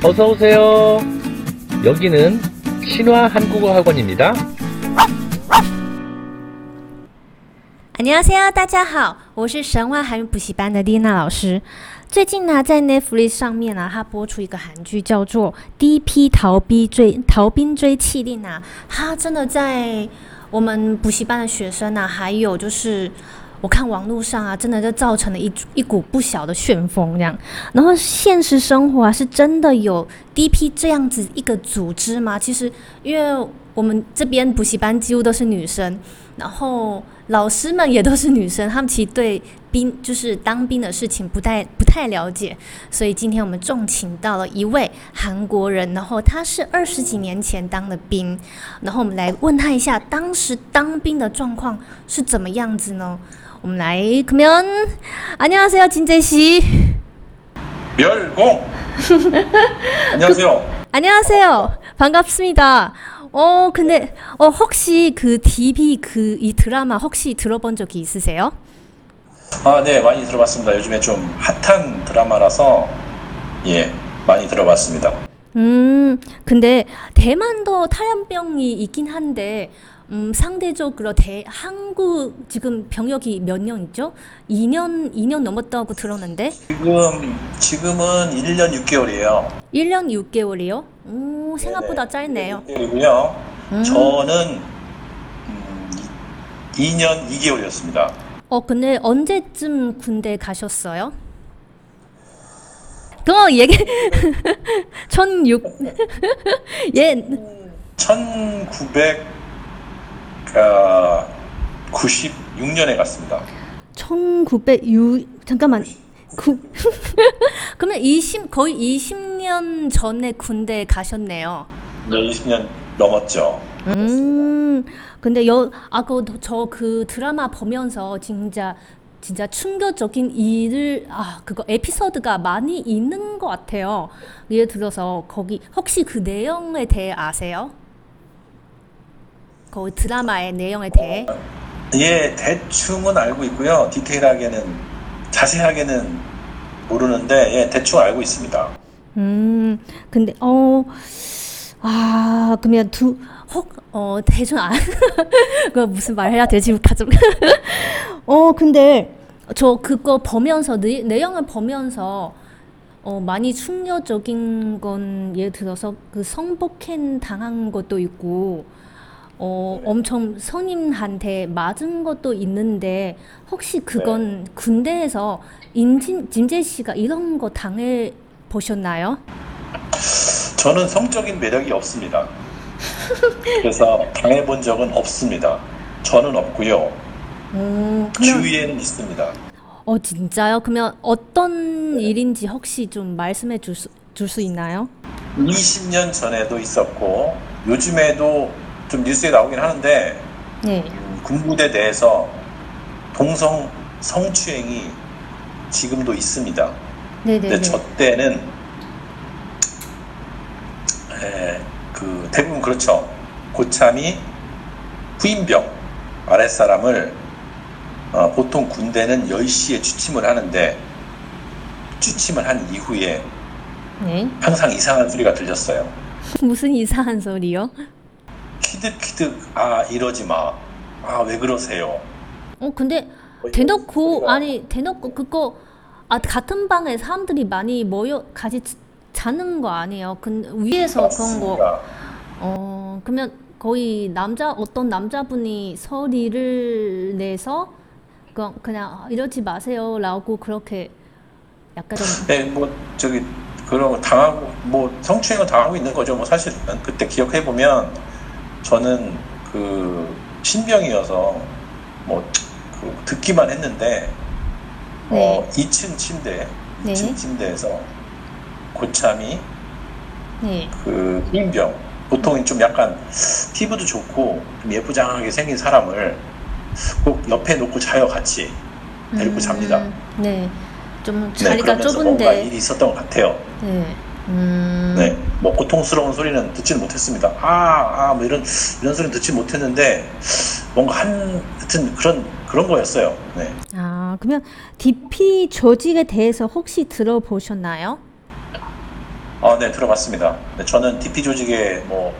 어서 오세요. 여기는 신화 한국어 학원입니다. 안녕하세요，大家好，我是神话韩语补习班的丽娜老师。最近呢，在 Netflix 上面呢，它播出一个韩剧叫做《第一批逃兵追缉令》啊，它真的在我们补习班的学生啊，还有就是我看网络上啊，真的就造成了一股不小的旋风这样。然后现实生活啊，是真的有 DP 这样子一个组织吗？其实因为我们这边补习班几乎都是女生，然后老师们也都是女生，他们其实对就是当兵的事情不太了解，所以今天我们重请到了一位韩国人，然后他是20几年前当的兵，然后我们来问他一下当时当兵的状况是怎么样子呢？我们来그러면 안녕하세요 진재 씨. 멸공. 안녕하세요. 안녕하세요. 반갑습니다. 근데 혹시 그 DB 이 드라마 혹시 들어본 적이 있으세요? 아, 네, 많이 들어봤습니다. 요즘에 좀 핫한 드라마라서 예, 많이 들어봤습니다. 근데 대만도 탈염병이 있긴 한데 상대적으로 한국 지금 병역이 몇 년 있죠? 2년 넘었다고 들었는데. 지금은 1년 6개월이에요. 1년 6개월이요? 생각보다 짧네요. 6개월이고요. 저는 2년 2개월이었습니다. 근데 언제쯤 군대 가셨어요? 그거 얘기 1996년에 갔습니다. 1906 잠깐만. 그러면 거의 20년 전에 군대 가셨네요. 네, 20년 넘었죠. 근데 저 그 드라마 보면서 진짜 충격적인 그거 에피소드가 많이 있는 것 같아요. 예를 들어서 거기 혹시 그 내용에 대해 아세요? 그 드라마의 내용에 대해? 예, 대충은 알고 있고요. 자세하게는 모르는데 예, 대충 알고 있습니다. 근데 그러면 대충 그거 무슨 말 해야 되지? 가좀 근데 저 그거 보면서 내용을 보면서 많이 충격적인 건 예를 들어서 그 성폭행 당한 것도 있고 엄청 선임한테 맞은 것도 있는데 혹시 그건 군대에서 진재 씨가 이런 거 당해 보셨나요? 저는 성적인 매력이 없습니다. 그래서 당해본 적은 없습니다. 저는 없고요. 주위에는 있습니다. 진짜요? 그러면 어떤 일인지 혹시 좀 말씀해 줄 수 있나요? 20년 전에도 있었고 요즘에도 좀 뉴스에 나오긴 하는데 네. 군부대 내에서 동성 성추행이 지금도 있습니다. 네네. 근데 저 때는 대부분 그렇죠. 고참이 후임병 아랫사람을 보통 군대는 10시에 취침을 하는데 취침을 한 이후에 네. 항상 이상한 소리가 들렸어요. 무슨 이상한 소리요? 키득키득 이러지 마. 왜 그러세요? 근데 대놓고 그거 같은 방에 사람들이 많이 모여 같이 자는 거 아니에요? 위에서 맞습니다. 그런 거. 그러면 거의 어떤 남자분이 소리를 내서 그냥 이러지 마세요라고 그렇게 약간 좀. 네, 그런 거 당하고 성추행을 당하고 있는 거죠. 사실 그때 기억해 보면 저는 그 신병이어서 듣기만 했는데 네. 2층 침대, 네. 2층 침대에서 고참이 네. 그 후임병 보통 좀 약간 피부도 좋고 좀 예쁘장하게 생긴 사람을 꼭 옆에 놓고 자요. 같이 데리고 잡니다. 네. 좀 자리가 그러면서 좁은데. 뭔가 일이 있었던 것 같아요. 네. 네, 고통스러운 소리는 듣지는 못했습니다. 이런 소리는 듣지 못했는데 뭔가 하여튼 그런 거였어요. 네. 그러면 DP 조직에 대해서 혹시 들어보셨나요? 네, 들어봤습니다. 네, 저는 DP 조직에 뭐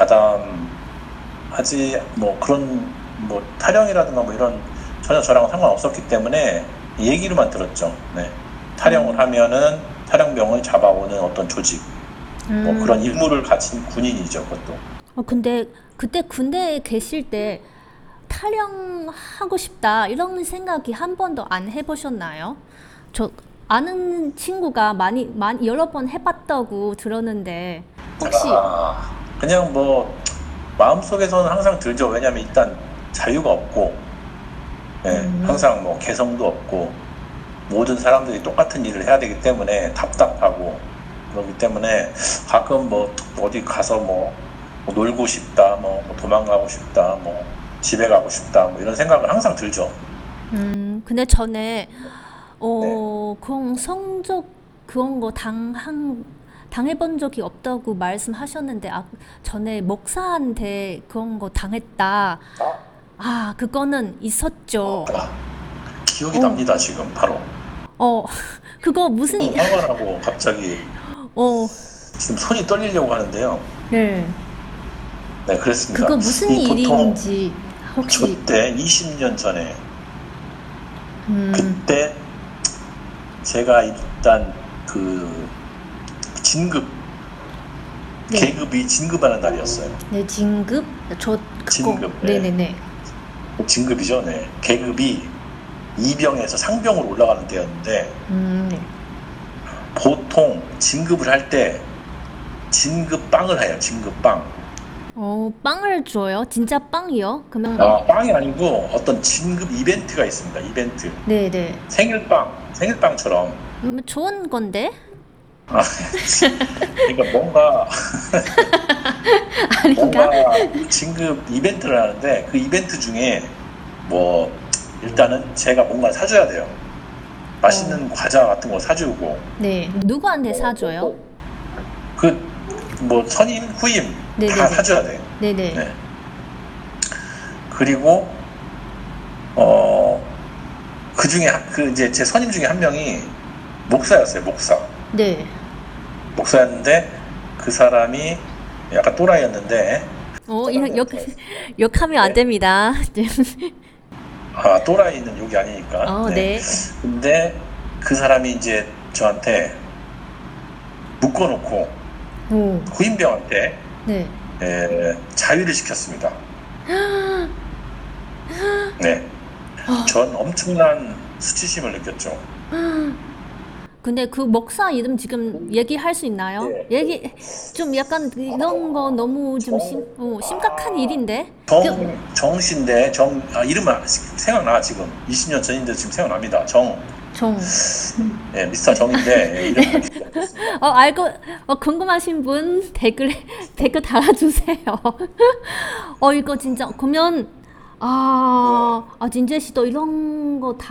가담하지 뭐 그런 뭐 타령이라든가 뭐 이런 전혀 저랑 상관없었기 때문에 얘기로만 들었죠. 네. 타령을 하면은 타령병을 잡아오는 어떤 조직, 뭐 그런 임무를 가진 군인이죠, 그것도. 근데 그때 군대에 계실 때 탈영하고 싶다 이런 생각이 한 번도 안 해보셨나요? 저 아는 친구가 많이 여러 번 해봤다고 들었는데 혹시 그냥 뭐 마음속에서는 항상 들죠. 왜냐하면 일단 자유가 없고, 네, 항상 뭐 개성도 없고 모든 사람들이 똑같은 일을 해야 되기 때문에 답답하고 그렇기 때문에 가끔 뭐 어디 가서 뭐 놀고 싶다, 뭐 도망가고 싶다, 뭐 집에 가고 싶다, 뭐 이런 생각은 항상 들죠. 근데 전에 그런 성적 그런 거 당해본 적이 없다고 말씀하셨는데 전에 목사한테 그런 거 당했다. 그거는 있었죠. 기억이 납니다, 지금 바로. 그거 무슨 화가 나고 갑자기 지금 손이 떨리려고 하는데요. 네. 네, 그렇습니다. 그거 무슨 일인지 혹시 그때 20년 전에 그때 제가 일단 그 진급 네. 계급이 진급하는 날이었어요. 네, 진급? 그거 진급, 네. 네네네. 진급이죠. 네. 계급이 이병에서 상병으로 올라가는 때였는데 네. 보통 진급을 할 때 진급빵을 해요. 진급빵. 빵을 줘요? 진짜 빵이요? 그러면 빵이 아니고 어떤 진급 이벤트가 있습니다. 이벤트. 네네. 생일빵처럼. 좋은 건데? 그러니까 뭔가 아닌가? 진급 이벤트를 하는데 그 이벤트 중에 뭐 일단은 제가 뭔가 사줘야 돼요. 맛있는 과자 같은 거 사주고. 네. 누구한테 사줘요? 그 뭐 선임, 후임 네네네. 다 사줘야 돼. 네네. 네. 그리고 그 중에 그 이제 제 선임 중에 한 명이 목사였어요. 네. 목사였는데 그 사람이 약간 또라이였는데 욕하면 안 됩니다. 또라이는 욕이 아니니까. 네. 근데 그 사람이 이제 저한테 묶어놓고 후임병한테 네. 자위를 시켰습니다. 네. 전 엄청난 수치심을 느꼈죠. 근데 그 목사 이름 지금 얘기할 수 있나요? 네. 좀 약간 이런 거 너무 좀 심각한 일인데? 정씨인데 이름은 생각나. 지금 20년 전인데 지금 생각납니다. 네, 미스터 정인데 이름 알고 궁금하신 분 댓글 달아주세요. 이거 진짜 그러면 진재 씨도 이런 거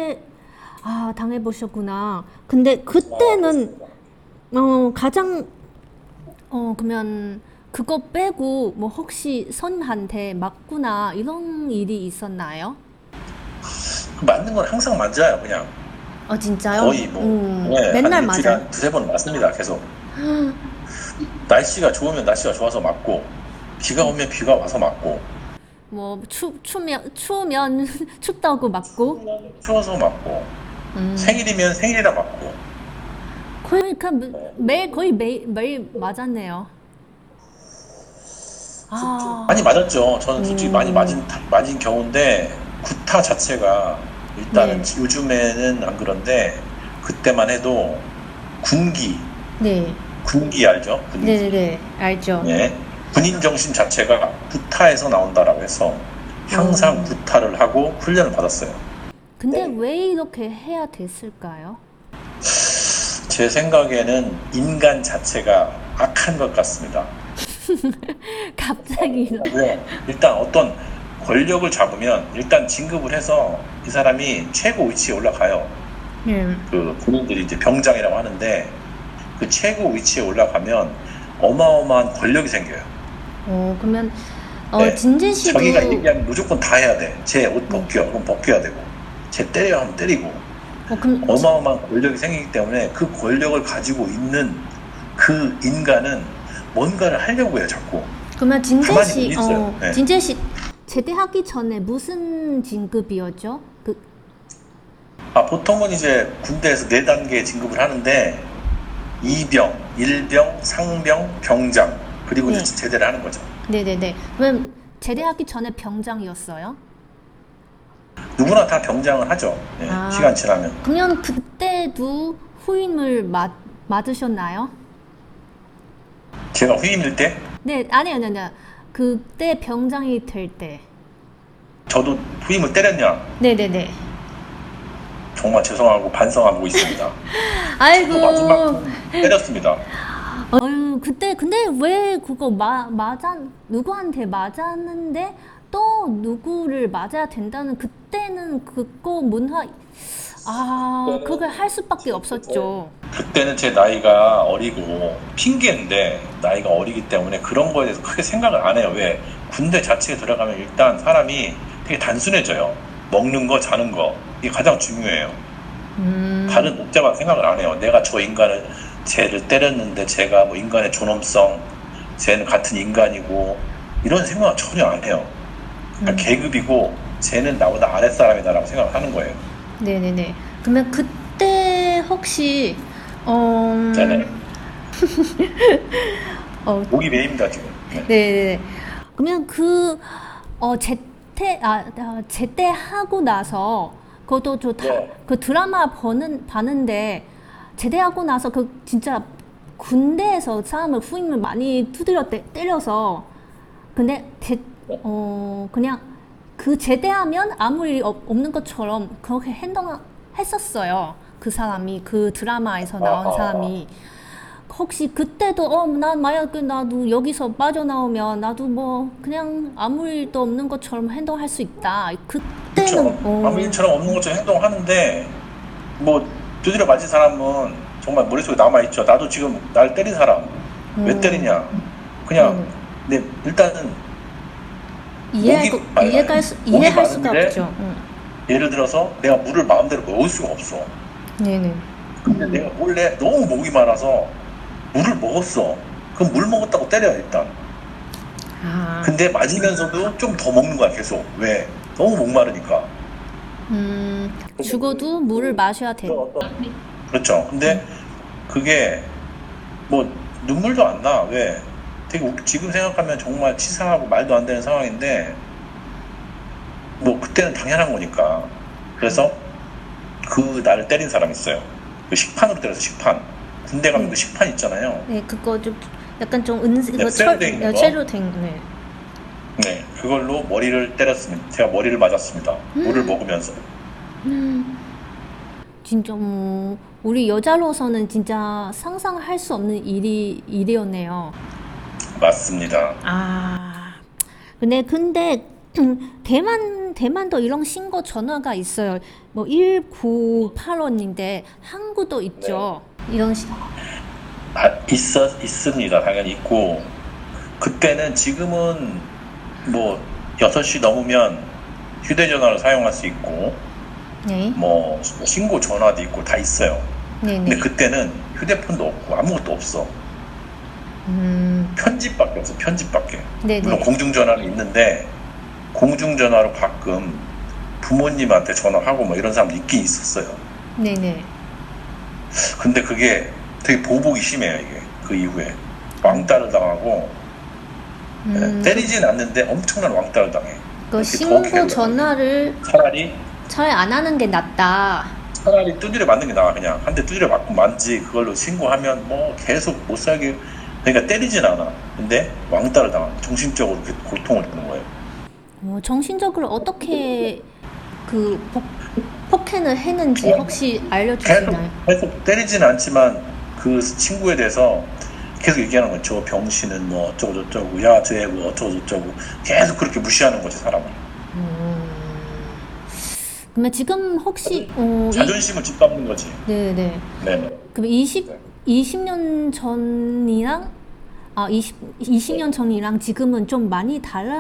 당해보셨구나. 근데 그때는 가장 그러면 그거 빼고 뭐 혹시 선한테 맞거나 이런 일이 있었나요? 맞는 건 항상 맞아요. 그냥 진짜요? 거의 뭐 맨날 한 일주일에 맞아요? 한 두세 번 맞습니다. 계속. 날씨가 좋으면 날씨가 좋아서 맞고 비가 오면 비가 와서 맞고 뭐 추우면 춥다고 맞고 추워서 맞고 생일이면 생일이라 맞고 그러니까 거의 매일 맞았네요. 많이 맞았죠. 저는 솔직히 많이 맞은 경우인데 구타 자체가 일단은 요즘에는 안 그런데 그때만 해도 군기 알죠? 군기. 네네네 알죠. 네. 군인 정신 자체가 구타에서 나온다라고 해서 항상 구타를 하고 훈련을 받았어요. 근데 왜 이렇게 해야 됐을까요? 제 생각에는 인간 자체가 악한 것 같습니다. 갑자기 일단 어떤 권력을 잡으면 일단 진급을 해서 이 사람이 최고 위치에 올라가요. 그 군인들이 이제 병장이라고 하는데 그 최고 위치에 올라가면 어마어마한 권력이 생겨요. 그러면 진재 씨도 자기가 얘기하면 무조건 다 해야 돼. 제 옷 벗겨, 그럼 벗겨야 되고, 제 때려 하면 때리고. 그럼 어마어마한 권력이 생기기 때문에 그 권력을 가지고 있는 그 인간은 뭔가를 하려고 해요, 자꾸. 그러면 진재 가만히 씨, 못 있어요. 네. 진재 씨 제대하기 전에 무슨 진급이었죠? 보통은 이제 군대에서 4단계 진급을 하는데, 2병, 1병, 상병, 병장, 그리고 네. 이제 제대를 하는 거죠. 네네네. 그럼 제대하기 전에 병장이었어요? 누구나 다 병장을 하죠. 네, 아. 시간 지나면. 그러면 그때도 후임을 맞으셨나요? 제가 후임일 때, 네, 아니요. 그때 병장이 될 때. 저도 후임을 때렸냐? 네네네. 정말 죄송하고 반성하고 있습니다. 아이고. 또 마지막 때렸습니다. 그때 근데 왜 그거 누구한테 맞았는데 또 누구를 맞아야 된다는 그때는 그거 그걸 할 수밖에 없었죠. 그때는 제 나이가 어리고 핑계인데 나이가 어리기 때문에 그런 거에 대해서 크게 생각을 안 해요. 왜? 군대 자체에 들어가면 일단 사람이 되게 단순해져요. 먹는 거, 자는 거. 이게 가장 중요해요. 다른 복잡한 생각을 안 해요. 내가 쟤를 때렸는데 쟤가 뭐 인간의 존엄성, 쟤는 같은 인간이고 이런 생각은 전혀 안 해요. 그러니까 계급이고 쟤는 나보다 아랫사람이다라고 생각을 하는 거예요. 네네네. 그러면 그때 혹시 네네. 목이 메입니다 지금. 네. 네네네. 그러면 제대하고 나서 그것도 네. 그 드라마 봤는데 제대하고 나서 진짜 군대에서 사람을 후임을 많이 때려서 근데 그냥 그 제대하면 아무 일이 없는 것처럼 그렇게 행동했었어요. 그 사람이 그 드라마에서 나온 사람이 혹시 그때도 나도 여기서 빠져나오면 나도 뭐 그냥 아무 일도 없는 것처럼 행동할 수 있다. 그때는 아무 일처럼 없는 것처럼 행동하는데 뭐 두드려 맞은 사람은 정말 머릿속에 남아있죠. 나도 지금 날 때린 사람 왜 때리냐. 그냥 일단은 이해할 수가 없죠. 예를 들어서 내가 물을 마음대로 먹을 수가 없어. 네네. 근데 내가 몰래 너무 목이 많아서 물을 먹었어. 그럼 물 먹었다고 때려 일단. 근데 맞으면서도 좀 더 먹는 거야 계속. 왜? 너무 목마르니까. 죽어도 물을 마셔야 돼. 그렇죠. 근데 그게 뭐 눈물도 안 나. 왜? 되게 지금 생각하면 정말 치사하고 말도 안 되는 상황인데 뭐 그때는 당연한 거니까. 그래서 그 나를 때린 사람이 있어요. 그 식판으로 때려서 식판. 군대 가면 그 식판 있잖아요. 네, 그거 좀 약간 좀 쇠로 된 거. 쇠로 된 거. 네. 네, 그걸로 머리를 때렸습니다. 제가 머리를 맞았습니다. 물을 먹으면서. 진짜 우리 여자로서는 진짜 상상할 수 없는 일이었네요. 맞습니다. 근데 대만도 이런 신고 전화가 있어요. 뭐 1985인데 한국도 있죠. 이런 있습니다. 당연히 있고 그때는 지금은 뭐 6시 넘으면 휴대전화를 사용할 수 있고 네. 뭐 신고 전화도 있고 다 있어요. 네네. 근데 그때는 휴대폰도 없고 아무것도 없어. 편지밖에 없어. 편지밖에. 네네. 물론 공중전화는 있는데 공중전화로 가끔 부모님한테 전화하고 뭐 이런 사람도 있긴 있었어요. 네네. 근데 그게 되게 보복이 심해요. 이게 그 이후에 왕따를 당하고 때리진 않는데 엄청난 왕따를 당해. 그 그게 더 신고 괴로워요. 전화를 차라리 안 하는 게 낫다. 두드려 맞는 게 나아. 그냥 한 대 두드려 맞고 만지 그걸로 신고하면 뭐 계속 못 살게. 그러니까 때리진 않아. 근데 왕따를 당하. 정신적으로 고통을 주는 거예요. 정신적으로 어떻게 그 폭행을 했는지 혹시 알려주시나요? 계속 때리지는 않지만 그 친구에 대해서 계속 얘기하는 거죠. 저 병신은 뭐 어쩌고 저쩌고, 야 쟤 뭐 어쩌고 저쩌고 계속 그렇게 무시하는 거지 사람을. 그러면 지금 혹시 자존심을 짓밟는 거지. 네네. 네네. 그럼 20년 전이랑 20년 전이랑 지금은 좀 많이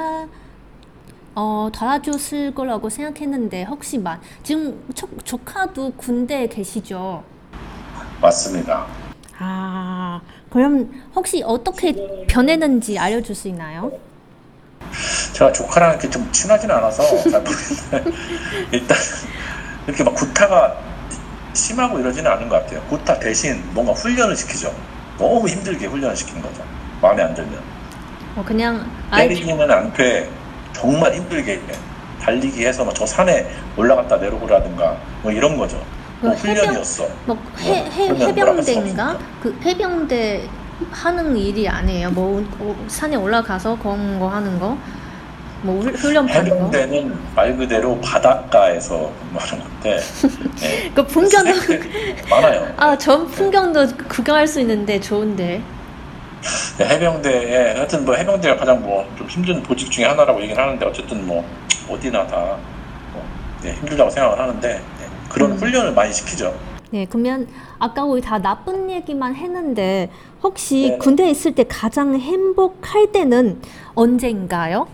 달라졌을 거라고 생각했는데 혹시 지금 조카도 군대에 계시죠? 맞습니다. 아, 그럼 혹시 어떻게 변했는지 알려줄 수 있나요? 제가 조카랑 이렇게 좀 친하지는 않아서 잘 모르겠는데 일단 이렇게 막 구타가 심하고 이러지는 않은 것 같아요. 구타 대신 뭔가 훈련을 시키죠. 너무 힘들게 훈련을 시키는 거죠. 마음에 안 들면. 그냥 때리기는 않되 정말 힘들게 달리기 해서 막 저 산에 올라갔다 내려오라든가 뭐 이런 거죠. 뭐 훈련이었어. 뭐 훈련 뭐라 할수 해병대인가? 없으니까. 그 해병대 하는 일이 아니에요. 뭐 산에 올라가서 그런 거 하는 거, 뭐 훈련 받는 거. 해병대는 말 그대로 바닷가에서 근무하는 건데 네. 그 풍경도 많아요. 전 풍경도 구경할 수 있는데 좋은데. 네, 해병대에 하여튼 뭐 해병대가 가장 뭐 좀 힘든 보직 중에 하나라고 얘기를 하는데 어쨌든 뭐 어디나 다 네, 힘들다고 생각을 하는데 네, 그런 훈련을 많이 시키죠. 네, 그러면 아까 우리 다 나쁜 얘기만 했는데 혹시 네. 군대에 있을 때 가장 행복할 때는 언제인가요?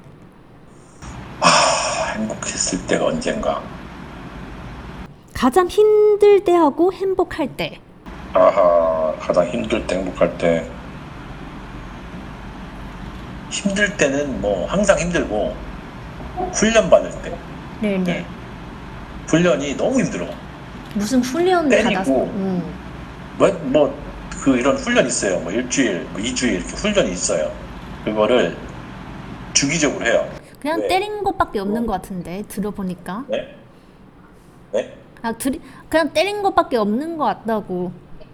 행복했을 때가 언젠가. 가장 힘들 때하고 행복할 때. 가장 힘들 때 행복할 때. 힘들 때는 뭐 항상 힘들고 훈련 받을 때. 네, 네. 훈련이 너무 힘들어. 무슨 훈련 때리고. 받아서? 그 이런 훈련 있어요. 뭐 일주일, 뭐 2주일 이렇게 훈련이 있어요. 그거를 주기적으로 해요. 그냥 네. 때린 것밖에 없는 것 같은데 들어보니까. 네? 네? 그냥 때린 것밖에 없는 것 같다고.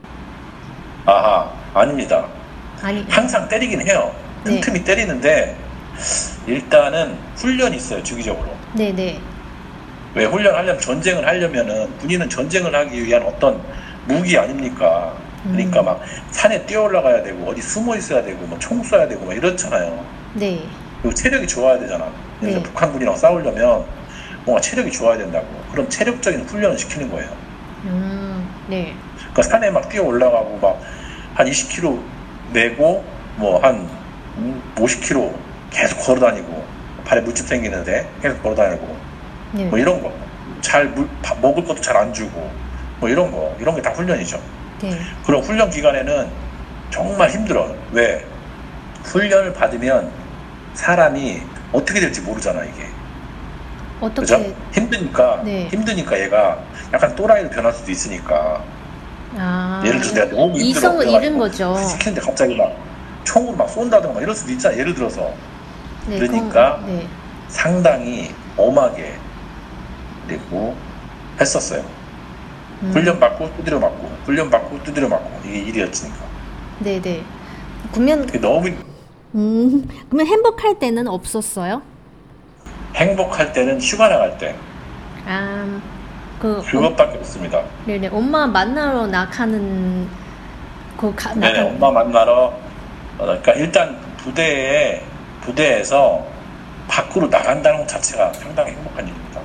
아닙니다. 아니, 항상 때리긴 해요. 네. 틈틈이 때리는데 일단은 훈련이 있어요. 주기적으로. 네네. 왜 훈련하려면 전쟁을 하려면은 군인은 전쟁을 하기 위한 어떤 무기 아닙니까? 그러니까 막 산에 뛰어 올라가야 되고 어디 숨어 있어야 되고 뭐 총 쏴야 되고 막 이렇잖아요. 네. 그리고 체력이 좋아야 되잖아. 네. 그러니까 북한군이랑 싸우려면 뭔가 체력이 좋아야 된다고. 그럼 체력적인 훈련을 시키는 거예요. 네. 그러니까 산에 막 뛰어 올라가고 막 한 20km 내고 뭐 한 50km 계속 걸어 다니고 발에 물집 생기는데 계속 걸어 다니고 네. 뭐 이런 거. 먹을 것도 잘 안 주고 뭐 이런 게 다 훈련이죠. 네. 그럼 훈련 기간에는 정말 힘들어. 왜? 훈련을 받으면 사람이 어떻게 될지 모르잖아, 이게. 어떻게? 그죠? 힘드니까 네. 얘가 약간 또라이로 변할 수도 있으니까. 예를 들어서 내가 너무 힘들어. 이성을 잃은 거죠. 시키는데 갑자기 막 총으로 막 쏜다든가 막 이럴 수도 있잖아. 예를 들어서. 네, 그러니까 네. 상당히 엄하게 그리고 했었어요. 훈련 받고 두드려 맞고 훈련 받고 두드려 맞고 이게 일이었으니까. 네네. 그러면 그게 너무 그러면 행복할 때는 없었어요? 행복할 때는 휴가 나갈 때 그것밖에 없습니다. 네네. 엄마 만나러 나가는 네네, 엄마 만나러 그러니까 일단 부대에서 밖으로 나간다는 것 자체가 상당히 행복한 일입니다.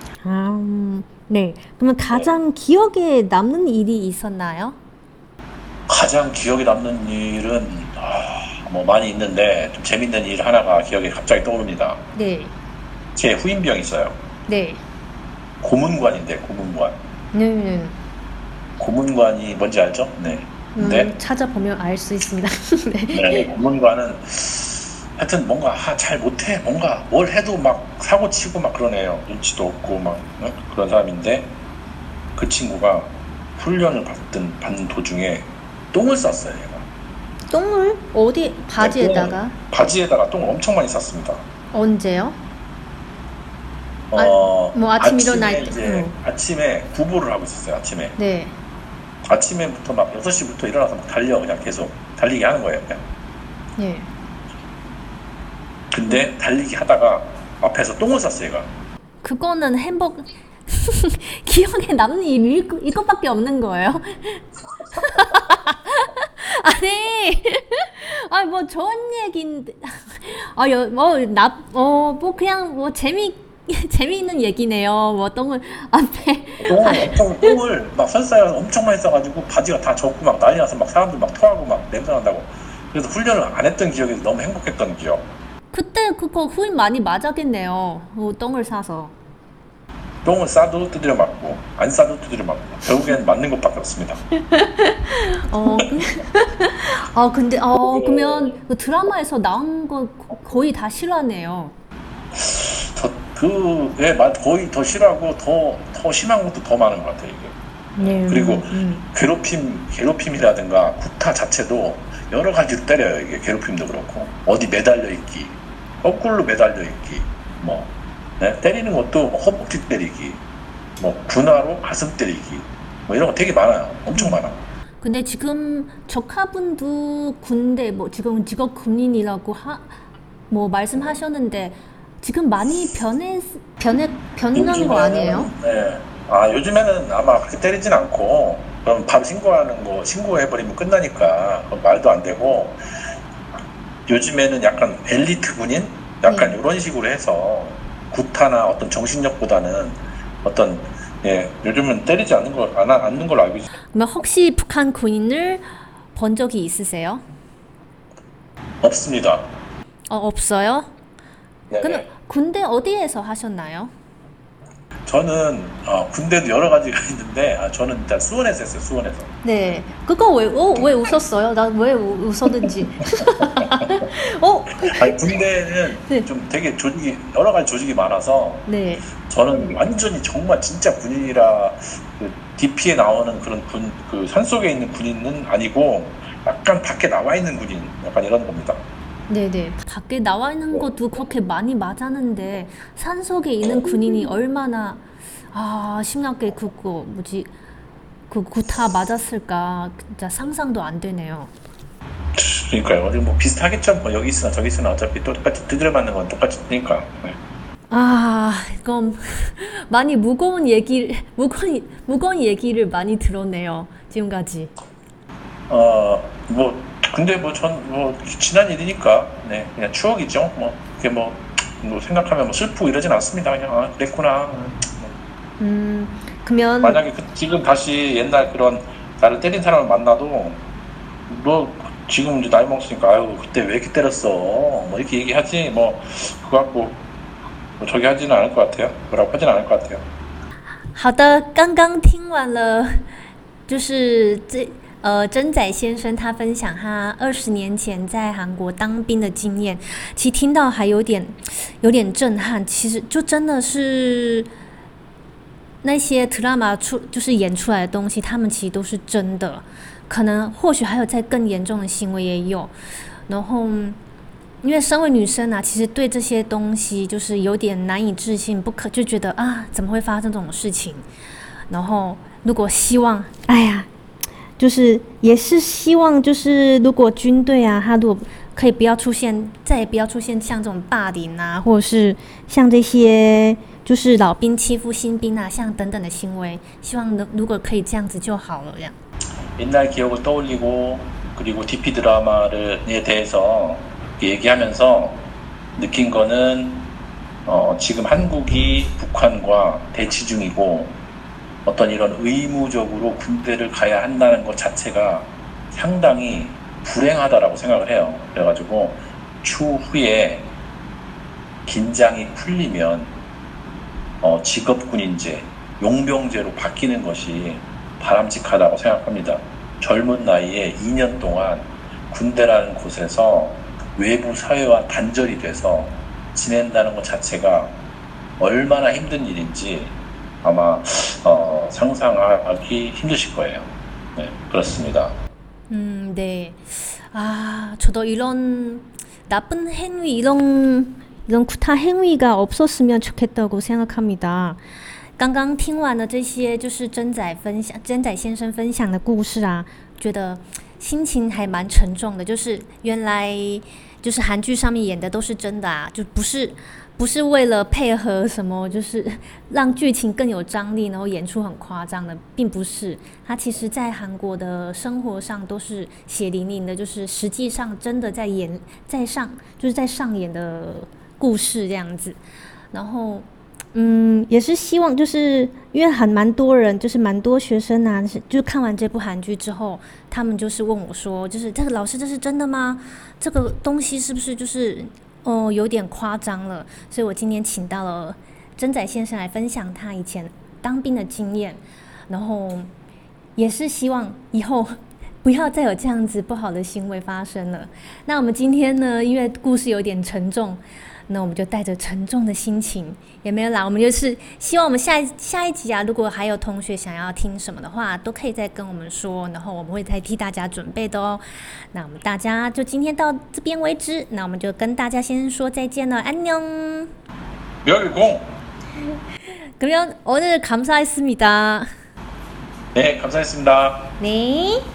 네. 그러면 가장 기억에 남는 일이 있었나요? 가장 기억에 남는 일은 뭐 많이 있는데 좀 재밌는 일 하나가 기억에 갑자기 떠오릅니다. 네. 제 후임병이 있어요. 네. 고문관인데 고문관. 네. 고문관이 뭔지 알죠? 네. 네. 찾아보면 알 수 있습니다. 네. 네. 고문관은 하여튼 뭔가 잘 못해. 뭔가 뭘 해도 막 사고 치고 막 그러네요. 눈치도 없고 막 그런 사람인데 그 친구가 훈련을 받는 도중에 똥을 쌌어요. 얘가. 똥을 어디 바지에다가? 네, 바지에다가 똥을 엄청 많이 쌌습니다. 언제요? 뭐 아침 일어날 때. 이제 아침에 구보를 하고 있었어요. 아침에. 네. 아침에부터 막 6시부터 일어나서 막 달려. 그냥 계속 달리기 하는 거예요. 그냥. 네. 근데 달리기 하다가 앞에서 똥을 쌌어요. 얘가. 그거는 기억에 남는 일이 이것밖에 없는 거예요? 아니, 뭐 좋은 얘기인데, 그냥 재미있는 얘기네요. 뭐 똥을 똥을 막 설사해서 엄청 많이 싸가지고 바지가 다 젖고 막 난리 나서 막 사람들 막 토하고 막 냄새 난다고. 그래서 훈련을 안 했던 기억이 너무 행복했던 기억. 그때 그거 후임 많이 맞았겠네요. 똥을 싸서. 똥을 싸도 두드려 맞고 안 싸도 두드려 맞고 결국엔 맞는 것밖에 없습니다. 어, 근데 그러면 그 드라마에서 나온 거 거의 다 실화네요. 거의 더 싫어하고 더 심한 것도 더 많은 것 같아요, 이게. 네. 그리고 괴롭힘이라든가 구타 자체도 여러 가지로 때려요, 이게. 괴롭힘도 그렇고. 어디 매달려 있기, 거꾸로 매달려 있기, 뭐, 네? 때리는 것도 허벅지 때리기, 뭐, 분화로 가슴 때리기, 뭐 이런 거 되게 많아요. 엄청 많아. 근데 지금 조카분도 군대 뭐 지금 직업 군인이라고 뭐 말씀하셨는데 지금 많이 변한 거 아니에요? 네. 요즘에는 아마 그렇게 때리진 않고, 그럼 바로 신고해버리면 끝나니까, 그건 말도 안 되고, 요즘에는 약간 엘리트 군인? 약간 네. 이런 식으로 해서, 구타나 어떤 정신력보다는 요즘은 때리지 않는 걸로 알고 있어요. 그러면 혹시 북한 군인을 본 적이 있으세요? 없습니다. 없어요? 네. 근데 군대 어디에서 하셨나요? 저는, 군대도 여러 가지가 있는데, 저는 일단 수원에서 했어요, 수원에서. 네. 그거 왜 웃었어요? 나 왜 웃었는지. 군대는 네. 좀 되게 여러 가지 조직이 많아서, 네. 저는 완전히 정말 진짜 군인이라 그 DP에 나오는 그런 그 산속에 있는 군인은 아니고 약간 밖에 나와 있는 군인 약간 이런 겁니다. 네네. 밖에 나와 있는 것도 그렇게 많이 맞았는데 산속에 있는 군인이 얼마나 심하게 그 구타 맞았을까 진짜 상상도 안 되네요. 그러니까요. 어디 뭐 비슷하겠죠. 뭐 여기 있으나 저기 있으나 어차피 똑같이 두드려 맞는 건 똑같으니까. 네. 이건 많이 무거운 얘기를 많이 들었네요. 지금까지. 근데 지난 일이니까, 네, 그냥 추억이죠. 그게 뭐 생각하면 슬프고 이러진 않습니다. 그냥, 그랬구나. 그러면 만약에 지금 다시 옛날 그런 나를 때린 사람을 만나도, 지금 이제 나이 먹었으니까, 아유, 그때 왜 이렇게 때렸어? 뭐 이렇게 얘기하지, 그거 갖고, 저기 하지는 않을 것 같아요. 뭐라고 하지는 않을 것 같아요. 好的，刚刚听完了，就是真仔先生他分享他20年前在韩国当兵的经验，其实听到还有点震撼。其实就真的是那些 drama 就是演出来的东西，他们其实都是真的，可能或许还有在更严重的行为也有。然后，因为身为女生啊，其实对这些东西就是有点难以置信，就觉得怎么会发生这种事情？然后如果希望，就是也是希望，就是如果军队啊，他如果可以再也不要出现像这种霸凌啊，或者是像这些就是老兵欺負新兵啊，像等等的行为，希望如果可以这样子就好了，这样。 옛날 기억을 떠올리고 그리고 DP 드라마에 대해서 얘기하면서 느낀 거는 지금 한국이 북한과 대치 중이고 어떤 이런 의무적으로 군대를 가야 한다는 것 자체가 상당히 불행하다라고 생각을 해요. 그래가지고 추후에 긴장이 풀리면 직업군인제, 용병제로 바뀌는 것이 바람직하다고 생각합니다. 젊은 나이에 2년 동안 군대라는 곳에서 외부 사회와 단절이 돼서 지낸다는 것 자체가 얼마나 힘든 일인지 아마 상상하기 힘드실 거예요. 네, 그렇습니다. 네. 저도 이런 나쁜 행위, 이런 구타 행위가 없었으면 좋겠다고 생각합니다. 刚刚听完了这些，就是真仔先生分享的故事啊，觉得心情还蛮沉重的。就是原来就是韩剧上面演的都是真的啊，就不是为了配合什么，就是让剧情更有张力，然后演出很夸张的，并不是。它其实在韩国的生活上都是血淋淋的，就是实际上真的在上演的故事这样子。然后也是希望，就是因为蛮多人，就是蛮多学生啊，就看完这部韩剧之后，他们就是问我说，就是这个老师这是真的吗？这个东西是不是就是有点夸张了？所以我今天请到了真仔先生来分享他以前当兵的经验，然后也是希望以后不要再有这样子不好的行为发生了。那我们今天呢，因为故事有点沉重，那我们就带着沉重的心情，也没有啦，我们就是希望我们下一集啊，如果还有同学想要听什么的话，都可以再跟我们说，然后我们会再替大家准备的哦。那我们大家就今天到这边为止，那我们就跟大家先说再见了，安녕。 멸공. 그러면 오늘 감사했습니다. 네, 감사했습니다. 네.